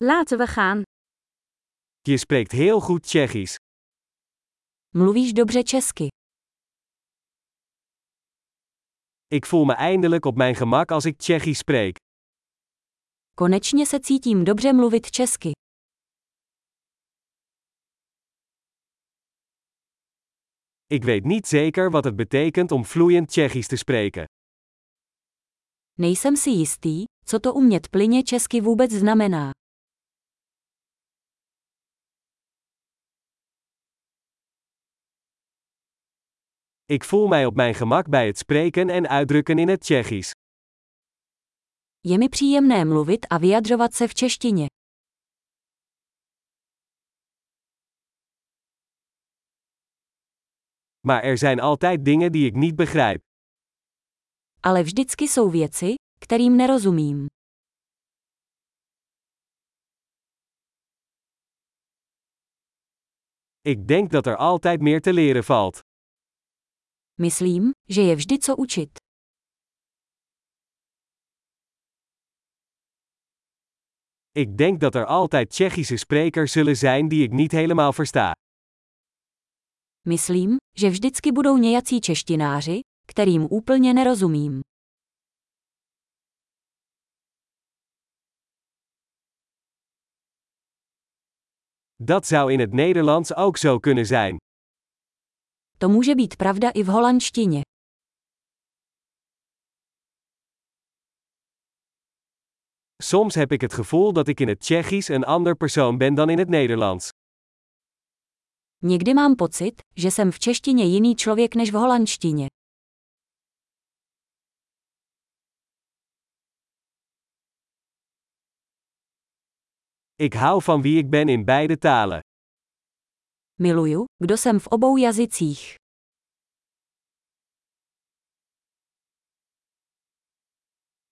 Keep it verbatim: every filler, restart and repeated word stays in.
Laten we gaan. Je spreekt heel goed Tsjechisch. Mluvíš dobře česky. Ik voel me eindelijk op mijn gemak als ik Tsjechisch spreek. Konečně se cítím dobře mluvit česky. Ik weet niet zeker wat het betekent om vloeiend Tsjechisch te spreken. Nejsem si jistý, co to umět plynně česky vůbec znamená. Ik voel mij op mijn gemak bij het spreken en uitdrukken in het Tsjechisch. Je mi příjemné mluvit a vyjadřovat se v češtině. Maar er zijn altijd dingen die ik niet begrijp. Ale vždycky jsou věci, kterým nerozumím. Ik denk dat er altijd meer te leren valt. Myslím, že je vždy co učit. Ik denk dat er altijd Tsjechische sprekers zullen zijn die ik niet helemaal versta. Myslím, že vždycky budou nějací češtináři, kterým úplně nerozumím. Dat zou in het Nederlands ook zo kunnen zijn. To může být pravda i v holandštině. Soms heb ik het gevoel dat ik in het Tsjechisch een ander persoon ben dan in het Nederlands. Někdy mám pocit, že jsem v češtině jiný člověk než v holandštině. Ik hou van wie ik ben in beide talen. Miluju, kdo jsem v obou jazycích.